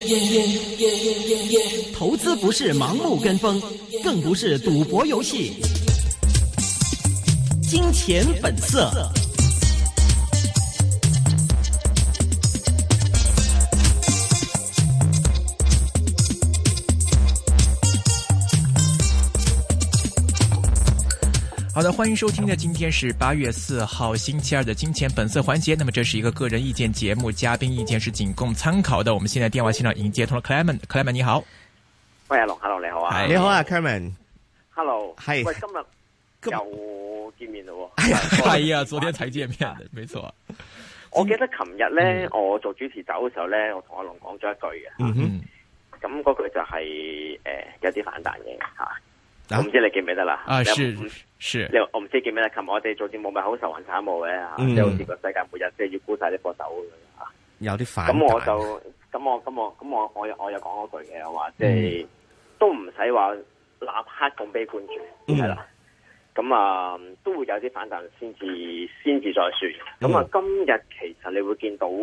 投資不是盲目跟風，更不是賭博遊戲。金錢本色。 好的，歡迎收聽的今天是8月4號星期二的金錢本色環節。那麼這是一個個人意見節目，嘉賓意見是僅供參考的。我們現在電話線上已經接通了 Clement 你好。 喂，阿龍 ，Hello 你好啊。 你好啊 Clement。Hello。 係。喂，今日又見面咯。 係呀，昨天才見面的，沒錯。 我記得琴日咧，我做主持走嘅時候咧，我同阿龍講咗一句嘅。嗯哼。咁嗰句就係有啲反彈嘅吓。我唔知你記唔記得啦？ 啊，是。 我唔知記唔記得？琴日我哋做節目咪好愁雲慘霧嘅吓，即係好似個世界末日，即係要沽晒啲貨走咁樣吓。 有啲反彈。 咁我又講嗰句嘅，我話即係都唔使話立刻咁悲觀住，係啦。咁啊都會有啲反彈先至再算。咁啊今日其實你會見到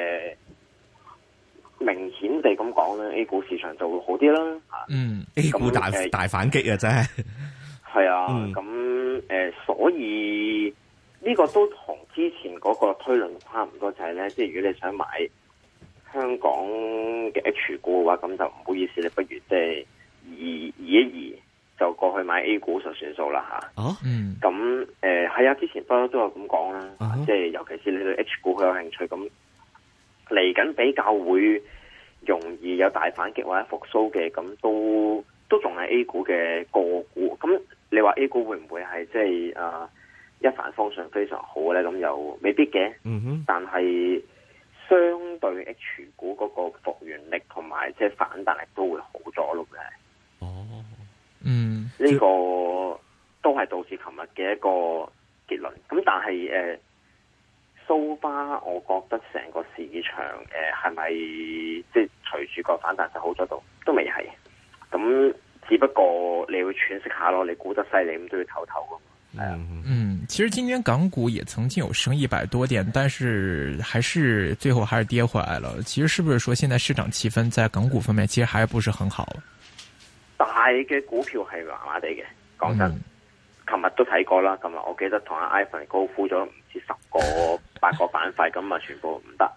明顯地咁講咧 ，A 股市場就會好啲啦。 A 股大反擊啊，真係。 係啊，咁所以呢個都同之前嗰個推論差唔多，就係咧，即係如果你想買香港嘅 H 股嘅話，咁就唔好意思，你不如即係移一移，就過去買 A 股就算數啦吓。哦，咁係啊，之前不嬲都有咁講啦，即係尤其是你對 H 股好有興趣，咁嚟緊比較會容易有大反擊或者復甦嘅，咁都仲係 A 股嘅個股，咁你話 A 股會唔會係即係一帆風順非常好咧？咁又未必嘅。但係相對 H 股嗰個復原力同埋即係反彈力都會好咗咯嘅。呢個都係導致琴日嘅一個結論。咁但係so far，我覺得成個市場係咪即係隨住個反彈就好咗都未係。咁只不過你會喘息下咯，你估得犀利咁都要唞唞噶嘛。 其實今天港股也曾經有升100多點，但是最後還是跌回來了。其實是不是說現在市場氣氛在港股方面其實還不是很好？ 大嘅股票係麻麻地嘅，講真。琴日都睇過啦，琴日我記得同阿 Ivan 高呼咗唔知8個板塊，咁啊全部唔得。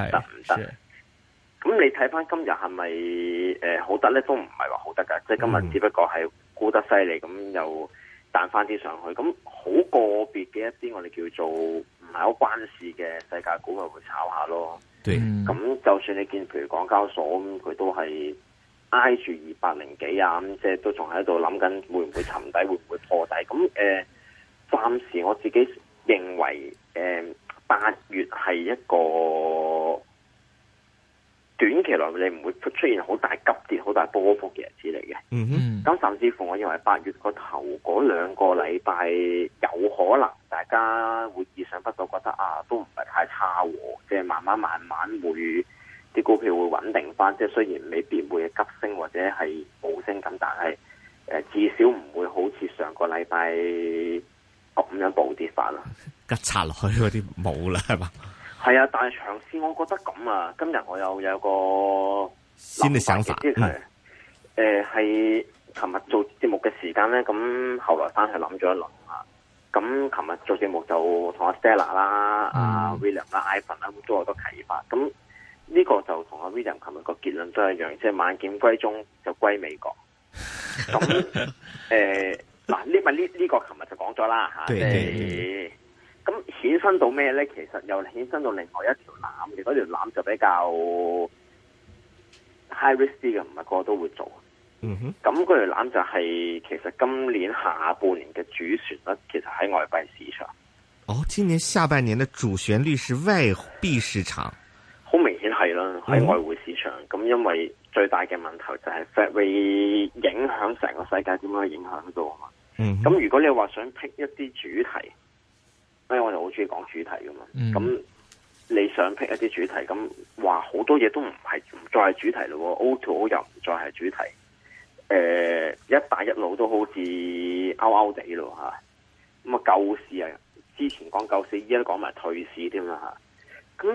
咁你睇翻今日係咪好得咧？都唔係話好得噶，即係今日只不過係沽得犀利，咁又彈翻啲上去。咁好個別嘅一啲我哋叫做唔係好關事嘅世界股，咪會炒下咯。咁就算你見譬如港交所咁，佢都係挨住200幾啊，咁即係都仲喺度諗緊會唔會沉底，會唔會破底。咁暫時我自己認為8月係一個短期內你唔會出現好大急跌、好大波幅嘅日子嚟嘅。咁甚至乎我認為8月個頭嗰2個禮拜有可能大家會意想不到，覺得都唔係太差喎，即係慢慢會啲股票會穩定翻。即係雖然未必會急升或者係冇升咁，但係至少唔會好似上個禮拜咁樣暴跌法啦。 吉插落去嗰啲冇啦，係嘛？ 係啊，但係長線我覺得咁啊。今日我又有個先嘅想法， 即係係琴日做節目嘅時間咧，咁後來翻去諗咗一輪啊。咁琴日做節目就同阿 Stella 啦、阿 William 啦、Ivan 啦，都有好多啟發。咁呢個就同阿 William 琴日個結論都係一樣，即係萬劍歸宗就歸美國。咁嗱，呢個琴日就講咗啦吓，即係。咁衍生到咩咧？其實又衍生到另外一條纜嘅，嗰條纜就比較 high risk 啲嘅，唔係個個都會做。咁嗰條纜就係其實今年下半年嘅主旋律，其實喺外幣市場。 今年下半年嘅主旋律是外幣市場， 好明顯係啦，喺外匯市場。咁因為最大嘅問題就係 Fed 會影響成個世界點樣去影響到啊嘛。咁如果你話想 pick 一啲主題，因為我哋好中意講主題噶嘛，咁你想 pick 一啲主題，咁話好多嘢都唔再係主題咯。O2O 又唔再係主題，一帶一路都好似勾地咯吓。咁啊救市啊，之前講救市，依家都講埋退市添啦吓。咁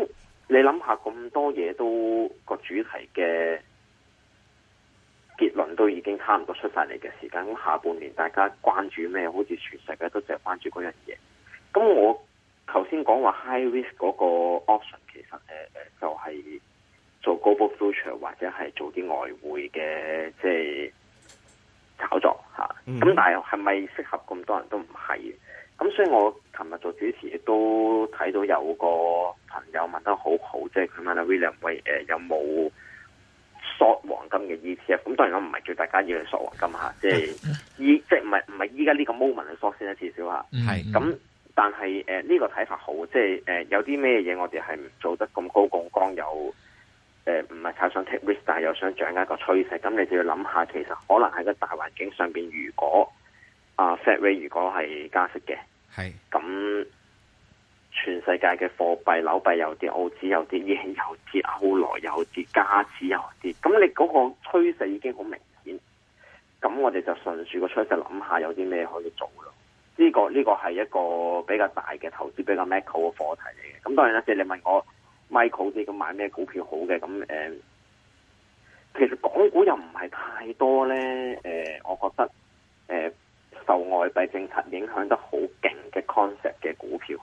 你諗下咁多嘢都個主題嘅結論都已經差唔多出晒嚟嘅時間，咁下半年大家關注咩？好似全世界都淨係關注嗰樣嘢。咁我頭先講話 high risk 嗰個 option 其實就係做 global future 或者係做啲外匯嘅即係炒作吓。咁但係咪適合咁多人都唔係？咁所以我琴日做主持亦都睇到有個朋友問得好好，即係佢問阿 William 喂有冇 short 黃金嘅 ETF？ 咁當然我唔係叫大家要去 short 黃金吓，即係即係唔係依家呢個 moment 去 short 先啦，至少吓。係咁，但係呢個睇法好，即係有啲咩嘢我哋係唔做得咁高槓桿，又唔係太想 take risk， 但係又想掌握一個趨勢，咁你就要諗下，其實可能喺個大環境上邊，如果Fed rate 如果係加息嘅，係咁，全世界嘅貨幣、紐幣有啲，澳紙有啲，日元有啲，歐羅有啲，加紙有啲，咁你嗰個趨勢已經好明顯，咁我哋就順住個趨勢諗下有啲咩可以做咯。呢個係一個比較大嘅投資，比較 macro 嘅課題嚟嘅。咁當然啦，即係你問我 Michael 啲咁買咩股票好嘅，咁其實港股又唔係太多咧。我覺得受外幣政策影響得好勁嘅 concept 嘅股票，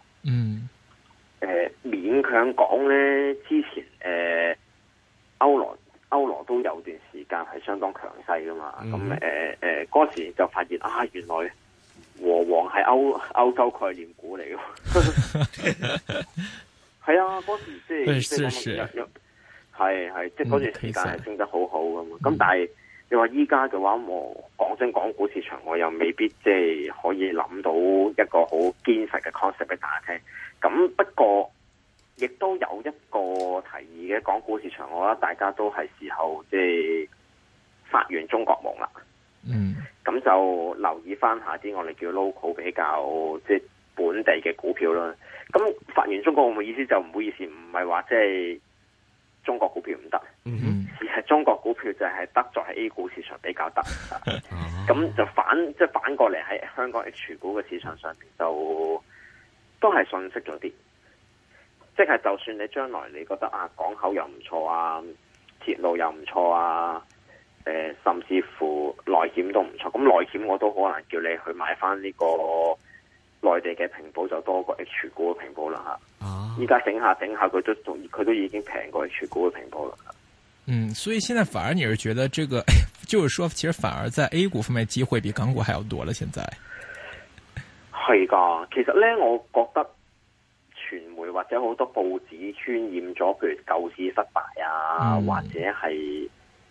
勉強講咧，之前歐羅都有段時間係相當強勢噶嘛，咁嗰時就發現原來和黃係歐洲概念股嚟嘅，係啊，嗰時即係即係嗰段時間係升得好好噶嘛，咁但係。你話依家嘅話，我講真，港股市場我又未必即係可以諗到一個好堅實嘅 concept 俾大家聽。咁不過，亦都有一個提議嘅港股市場，我覺得大家都係時候即係發完中國夢啦。咁就留意翻下啲我哋叫 local 比較即係本地嘅股票啦。咁發完中國夢嘅意思就唔好意思，唔係話即係中國股票唔得。而係中國股票就係得在喺 A 股市場比較得，咁就反過嚟喺香港 H 股嘅市場上面就都係遜色咗啲，即係就算你將來你覺得港口又唔錯啊，鐵路又唔錯啊，甚至乎內險都唔錯，咁內險我都可能叫你去買翻呢個內地嘅平保就多過 H 股嘅平保啦吓，依家整下佢都已經平過 H 股嘅平保啦。 所以現在反而你是覺得這個，就是說，其實反而在 A 股方面機會比港股還要多了。現在係噶，其實呢，我覺得傳媒或者好多報紙渲染咗，譬如救市失敗啊，或者係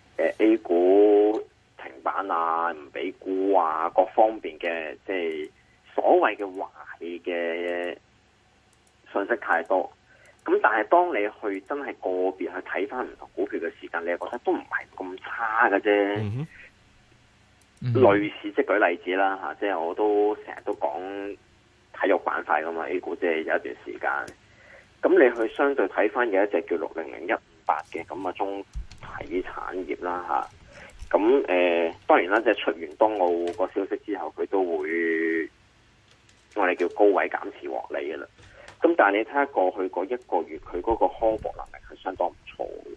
A 股停板啊，唔俾沽啊，各方面嘅即係所謂嘅壞嘅信息太多。咁但係當你去真係個別去睇翻唔同股票嘅時間，你又覺得都唔係咁差嘅啫。類似即係舉例子啦吓，即係我都成日都講體育板塊噶嘛 ，A 股即係有一段時間。咁你去相對睇翻有一隻叫600158嘅咁啊中體產業啦吓。咁當然啦，即係出完冬奧個消息之後，佢都會我哋叫高位減持獲利噶啦。咁但係你睇下過去嗰一個月，佢嗰個康復能力係相當唔錯嘅。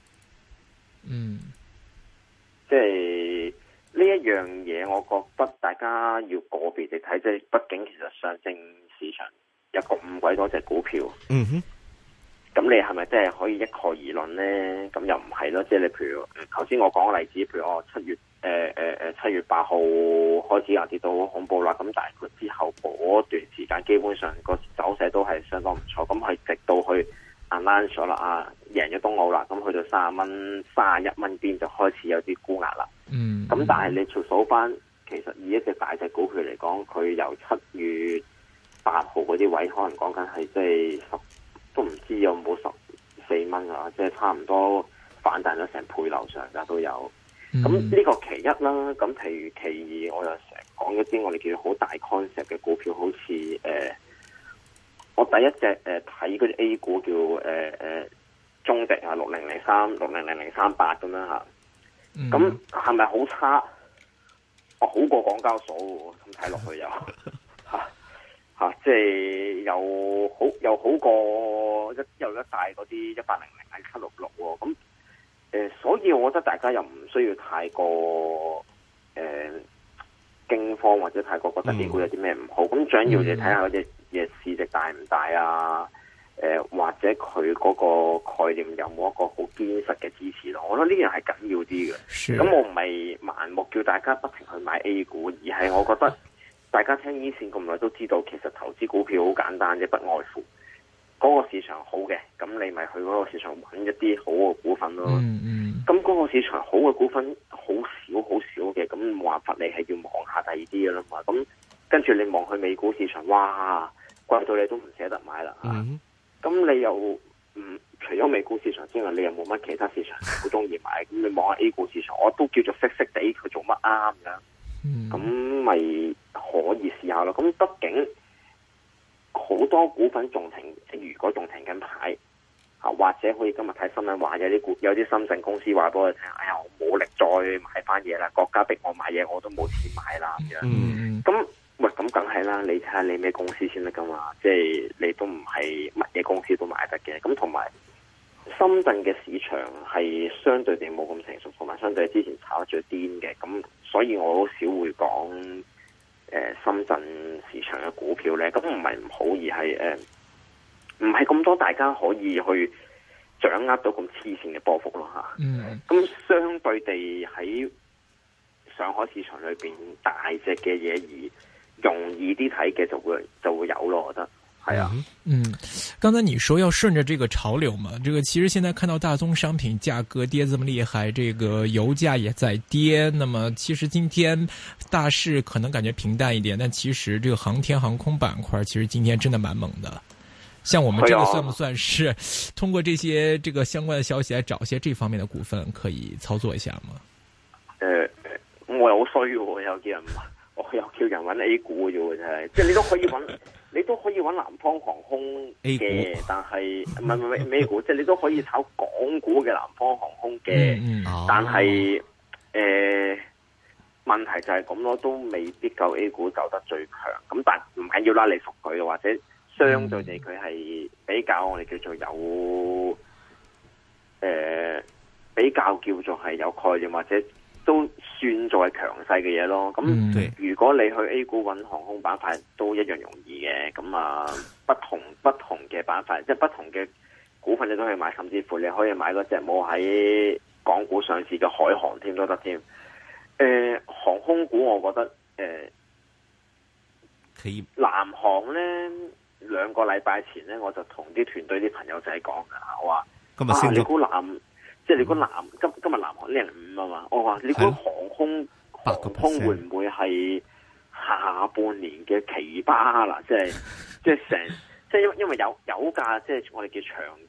即係呢一樣嘢，我覺得大家要個別地睇，即係畢竟其實上證市場有個5鬼多隻股票。咁你係咪真係可以一概而論咧？咁又唔係咯，即係你譬如頭先我講嘅例子，譬如我7月8號開始有跌到好恐怖啦，咁但係佢之後嗰段時間基本上個走勢都係相當唔錯，咁係直到去 announce 咗啦贏咗冬奧啦，咁去到31蚊邊就開始有啲沽壓啦。咁但係你數翻，其實以一隻大隻股票嚟講，佢由7月8號嗰啲位，可能講緊係即係都唔知有冇14蚊啊，即係差唔多反彈咗成倍樓上噶都有。咁呢個其一啦，咁譬如其二，我又成日講一啲我哋叫好大 concept 嘅股票，好似我第一隻睇嗰啲 A 股叫中迪啊6003、600038咁樣吓，咁係咪好差？好過港交所喎，咁睇落去又吓， 即係又好過一大嗰啲1800喺766喎。咁所以我覺得大家又唔需要太過驚慌或者太過覺得 A 股有啲咩唔好。咁最緊要你睇下嗰隻嘢市值大唔大啊？或者佢嗰個概念有冇一個好堅實嘅支持咯？我覺得呢樣係緊要啲嘅。咁我唔係盲目叫大家不停去買 A 股，而係我覺得大家聽依線咁耐都知道，其實投資股票好簡單啫，不外乎嗰個市場好嘅，咁你咪去嗰個市場揾一啲好嘅股份咯。咁嗰個市場好嘅股份好少嘅，咁冇辦法，你係要望下第二啲嘅啦嘛。咁跟住你望去美股市場，哇，貴到你都唔捨得買啦。咁你又除咗美股市場之外，你又冇乜其他市場好中意買。咁你望下 A 股市場，我都叫做識地佢做乜啱嘅。咁咪可以試下咯。咁畢竟好多股份仲停，如果仲停緊牌，或者可以今日睇新聞話有啲深圳公司話俾我聽，哎呀，我冇力再買翻嘢啦，國家逼我買嘢，我都冇錢買啦咁樣。咁喂，咁梗係啦，你睇下你咩公司先得噶嘛？即係你都唔係乜嘢公司都買得嘅。咁同埋深圳嘅市場係相對地冇咁成熟，同埋相對之前炒得最癲嘅。咁所以我好少會講深圳市場嘅股票咧。咁唔係唔好，而係唔係咁多大家可以去掌握到咁黐線嘅波幅咯吓。咁相對地喺上海市場裏邊大隻嘅嘢而容易啲睇嘅就會有咯，我覺得係啊。 剛才你說要順着這個潮流嘛，這個其實現在看到大宗商品價格跌這麼厲害，這個油價也在跌。那麼其實今天大市可能感覺平淡一點，但其實這個航天航空板塊其實今天真的蠻猛的。像我們這個算不算是通過這些這個相關的消息來找些這方面的股份可以操作一下嗎？ 我又好衰喎，我又叫人揾 A 股嘅啫，真係，即係你都可以揾南方航空嘅，但係唔係咩股，即係你都可以炒港股嘅南方航空嘅，但係問題就係咁咯，都未必夠 A 股走得最強。咁但唔緊要啦，你熟佢或者相對地佢係比較我哋叫做有比較叫做係有概念或者都算作係強勢嘅嘢咯。咁如果你去 A 股揾航空板塊都一樣容易嘅。咁不同嘅板塊，即係不同嘅股份你都可以買，甚至乎你可以買嗰隻冇喺港股上市嘅海航添都得添。航空股我覺得可以。 南航呢2個禮拜前呢，我就同啲團隊啲朋友仔講噶，我話今日升咗，你估即係你估今日南航0.5啊嘛，我話你估航空會唔會係下半年嘅奇葩啦？即係因為油價即係我哋叫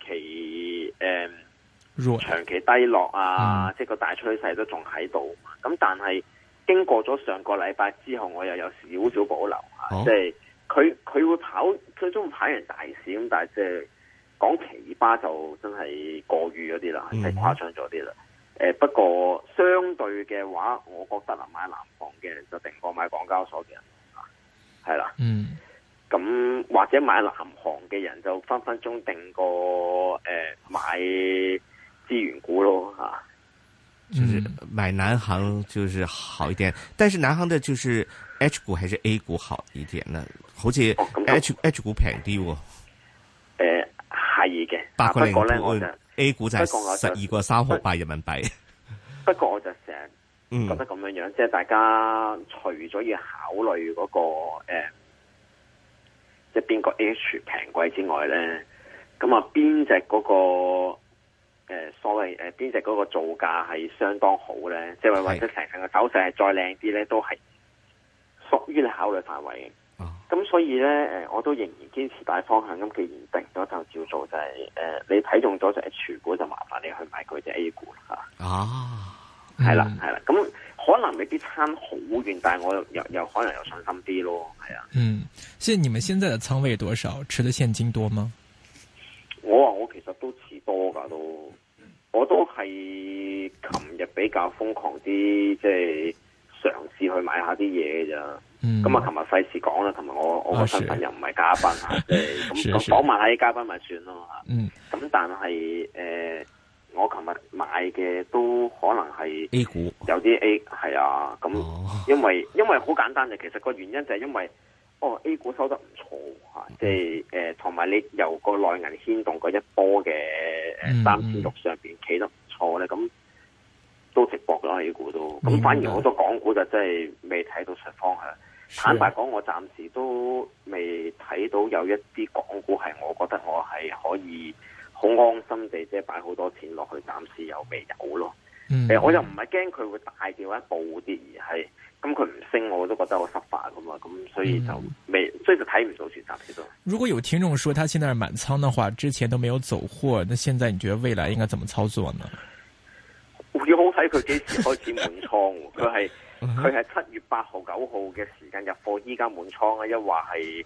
長期低落啊，即係個大趨勢都仲喺度。咁但係經過咗上個禮拜之後，我又有少少保留啊，即係佢會跑，最終跑完大市咁，但係即係講奇葩就真係過譽咗啲啦，係誇張咗啲啦。不過相對嘅話，我覺得買南航嘅人就定過買港交所嘅人啊，係啦。咁或者買南航嘅人就分分鐘定過買資源股咯吓。 就是買南航就是好一點，但是南航的就是 H 股還是 A 股好一點呢？好似 H 股平啲喎。係嘅，不過咧我就 A 股就係12.3毫8人民幣。不過我就成日覺得咁樣樣，即係大家除咗要考慮嗰個即係邊個 H 平貴之外咧，咁啊邊隻嗰個所謂邊隻嗰個造價係相當好咧，即係或者成個走勢係再靚啲咧，都係屬於你考慮範圍嘅。咁所以咧，我都仍然堅持大方向。咁既然定咗就照做，就係你睇中咗就 H 股，就麻煩你去買佢隻 A 股啦吓。係啦。咁可能未必差好遠，但係我又可能有信心啲咯。係啊。 所以你們現在的倉位多少？持的現金多嗎？ 我其實都持多噶，我都係琴日比較瘋狂啲，即係嘗試去買下啲嘢嘅咋。 咁啊，琴日費事講啦，同埋我個身份又唔係嘉賓嚇，即係咁講埋喺嘉賓咪算咯嚇。咁但係我琴日買嘅都可能係 A 股， 有啲 A 係啊。咁因為好簡單嘅，其實個原因就係因為A 股收得唔錯嚇，即係同埋你由個內銀牽動嗰一波嘅3600上邊企得唔錯咧，咁都直博咗 A 股都。咁反而好多港股就真係未睇到出方向。坦白講，我暫時都未睇到有一啲港股係我覺得我係可以好安心地即係擺好多錢落去，暫時又未有咯。我又唔係驚佢會大掉一步啲，而係咁佢唔升，我都覺得我失敗噶嘛。咁所以就所以就睇唔到住暫時都。 如果有聽眾說他現在是滿倉的話，之前都沒有走貨，那現在你覺得未來應該怎麼操作呢？ 要好睇佢幾時開始滿倉，佢係7月8號、9號嘅時間入貨，依家滿倉啊！一話係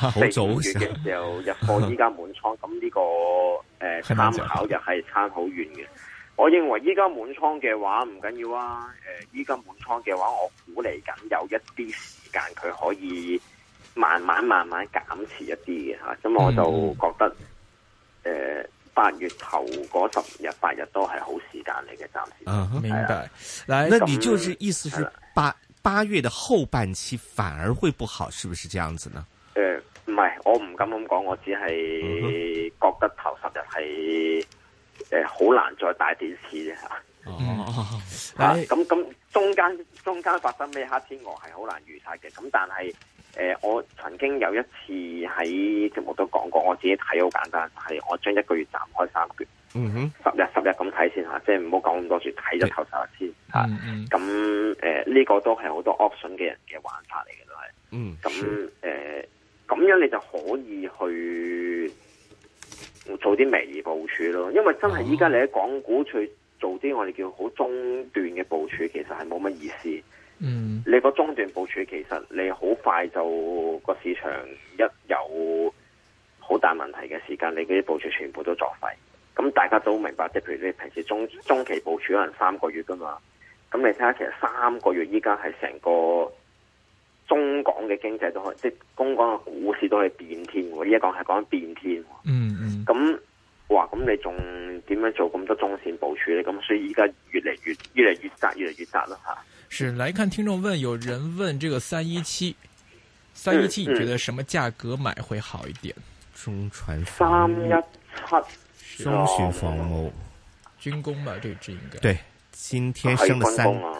4、5月嘅時候入貨，依家滿倉，咁呢個參考又係差好遠嘅。我認為依家滿倉嘅話唔緊要啊！依家滿倉嘅話，我估嚟緊有一啲時間佢可以慢慢減持一啲嘅嚇，咁我就覺得8月頭嗰10日8日都係好時間嚟嘅，暫時。 明白。 那你就是意思是八月的後半期反而會不好，是不是這樣子呢？ 唔係，我唔敢咁講，我只係覺得頭10日係好難再大跌次啫嚇。咁中間發生咩黑天鵝係好難預測嘅。咁但係我曾經有一次喺節目都講過，我自己睇好簡單，係我將1個月斬開3橛，10日咁睇先嚇，即係唔好講咁多住，睇咗頭10日先嚇。咁呢個都係好多 option 嘅人嘅玩法嚟嘅都係。咁樣你就可以去做啲微部署咯，因為真係依家你喺港股去做啲我哋叫好中段嘅部署，其實係冇乜意思。你個中段部署其實你好快就個市場一有好大問題嘅時間，你嗰啲部署全部都作廢。咁大家都明白，即係譬如你平時中期部署可能3個月噶嘛，咁你睇下其實3個月依家係成個中港嘅經濟都可以，即係中港嘅股市都可以變天喎。依家講係講緊變天。咁咁你仲點樣做咁多中線部署咧？咁所以依家越嚟越窄啦吓。 是，來看聽眾問，有人問這個317，你覺得什麼價格買會好一點？ 中船 317， 中船防務， 軍工嘛，這支應該對，今天升了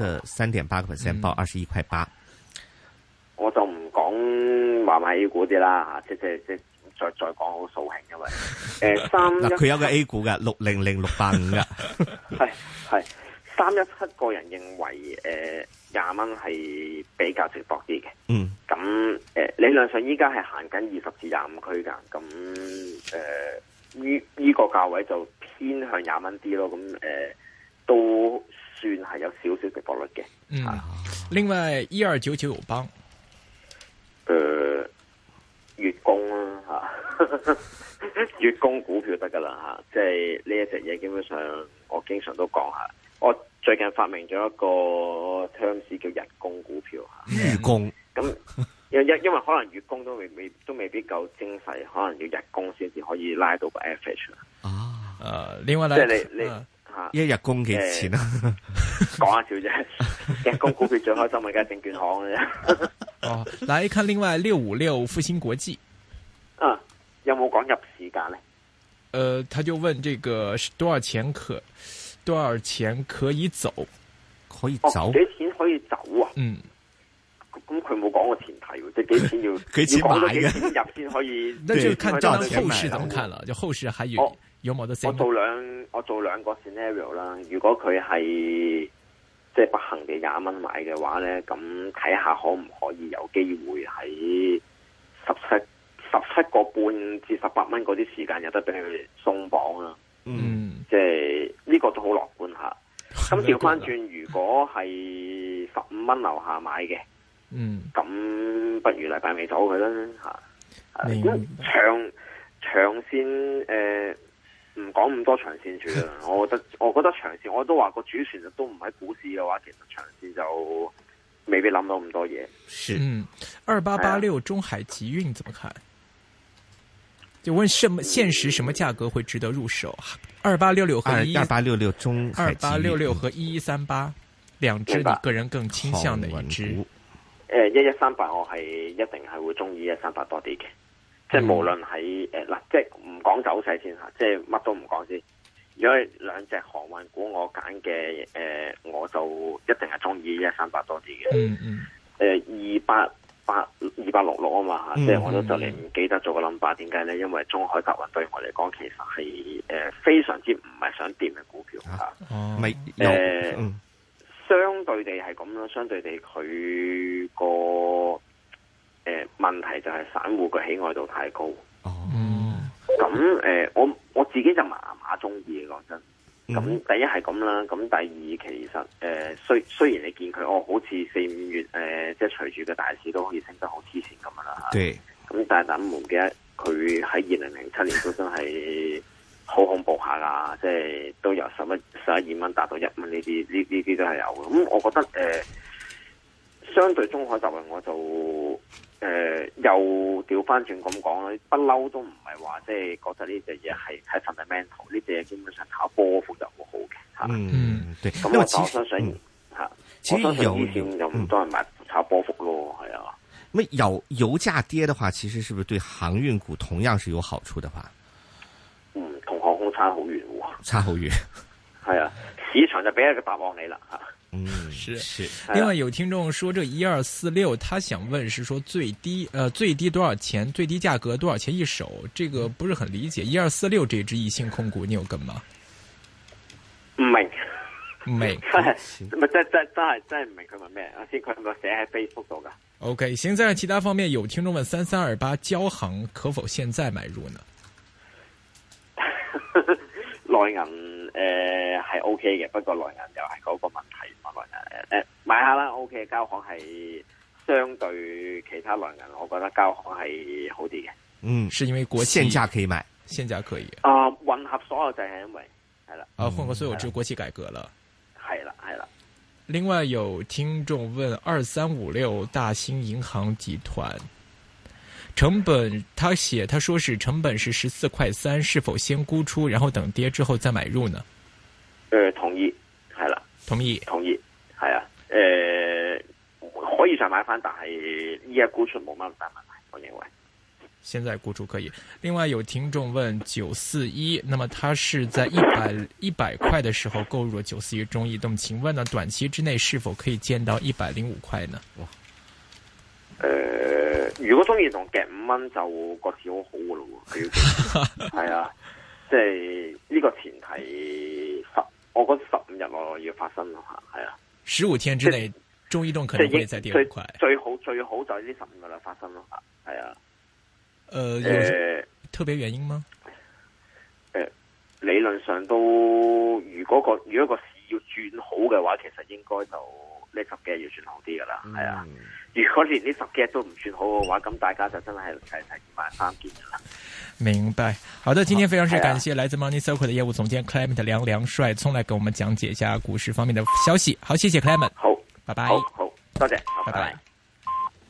3.8%，報21.8。 我就唔講話買 A 股啲啦吓，即再講好掃興，因為嗱佢有個 A 股嘅600685嘅， 係317個人認為20蚊係比較值博啲嘅。咁理論上依家係行緊20至25區間，咁呢個價位就偏向20蚊啲咯。咁都算係有少少值博率嘅。 另外1299友邦。 月供啦吓，月供股票得噶啦吓，即係呢一隻嘢基本上我經常都講下。我最近發明咗一個 terms 叫日供股票吓。 月供咁因為可能月供都未必夠精細，可能要日供先至可以拉到個 average 另外咧， 即係你吓一日供幾錢啊？ 講下笑啫，日供股票最開心咪梗係證券行嘅啫。 來看另外656復星國際， 有冇講入市價呢？ 他就問這個多少錢可以走？ 可以走？ 幾錢可以走啊？咁佢冇講個前提喎，即係幾錢要幾錢買嘅？ 幾錢入先可以？ 那就看這後市怎麼看了？就後市還有冇得升？ 我做兩個 scenario 啦。如果佢係即係不幸地20蚊買嘅話咧，咁睇下可唔可以有機會喺17個半至18蚊嗰啲時間有得俾佢鬆綁啦。即係呢個都好樂觀下。咁調翻轉，如果係15蚊樓下買嘅，咁不如禮拜尾走佢啦吓。咁長線唔講咁多長線住啦。我覺得長線我都話個主旋律都唔喺股市嘅話，其實長線就未必諗到咁多嘢。 是 2886中海集運怎麼看？就問現時什麼價格會值得入手？2866和 2866中海集運 2866和1138兩支，你個人更傾向哪一支 ？1138我係一定係會中意1138多啲嘅，即係無論喺嗱，即係唔講走勢先吓，即係乜都唔講先。如果兩隻航運股我揀嘅，我就一定係中意1138多啲嘅。266啊嘛，即係我都就嚟唔記得咗個 number， 點解咧？因為中海集運對我嚟講，其實係非常之唔係想掂嘅股票吓。相對地係咁咯，相對地佢個問題就係散戶嘅喜愛度太高。咁我自己就麻中意嘅，講真。咁第一係咁啦，咁第二其實雖然你見佢好似4-5月即係隨住個大市都可以升得好黐線咁樣啦嚇。咁但係大家唔記得佢喺2007年都真係好恐怖下㗎，即係都由11、12蚊達到1蚊呢啲都係有嘅。咁我覺得相對中海集運我就又調翻轉咁講啦，不嬲都唔係話即係覺得呢隻嘢係睇 fundamental， 呢隻嘢基本上炒波幅就好好嘅嚇。 對。 咁我相信嚇，我相信以前就唔多人買炒波幅咯，係啊。 咁油價跌的話，其實是不是對航運股同樣是有好處的話？ 同航空差好遠喎。 差好遠。係啊，市場就俾一個答案你啦嚇。 是。另外有聽眾說，這1246，他想問是說最低多少錢？最低價格多少錢一手？這個不是很理解。1246這支易信控股，你有跟嗎？ 唔明， 咪真係唔明佢問咩？先佢咪寫喺 Facebook 度噶。 OK， 行，在其他方面有聽眾問3328交行可否現在買入呢？ 內銀係 OK 嘅，不過內銀又係嗰個問題。內銀買下啦 ，OK。交行係相對其他內銀，我覺得交行係好啲嘅。 是因為國企現價可以買， 現價可以。 混合所有就係因為係啦。 混合所有就國企改革了。 係啦。 另外有聽眾問2356大興銀行集團。成本他說是成本是14.3，是否先沽出，然後等跌之後再買入呢？ 同意，係啦， 同意， 係啊，可以再買翻，但係依家沽出冇乜大問題，我認為。 現在沽出可以。另外有聽眾問941，那麼他是在100塊的時候購入了941中移動，請問呢短期之內是否可以見到105塊呢？ 如果中意同夾5蚊就個市好好噶咯喎，係啊，即係呢個前提我覺得15日內要發生咯吓，係啊 ，15天之內中移動可能會再跌5塊， 最好就係呢15日內發生咯吓，係啊， 有特別原因嗎？ 理論上都如果個市要轉好嘅話，其實應該就呢10幾日要轉好啲噶啦，係啊。如果連呢10幾日都唔算好嘅話，咁大家就真係齊買3件噶啦。 明白。好的，今天非常之感謝來自 Money Circle 的業務總監 Clement 梁帥聰來給我們講解一下股市方面的消息。好，謝謝 Clement。 好， 拜拜。 好，多謝， 拜拜。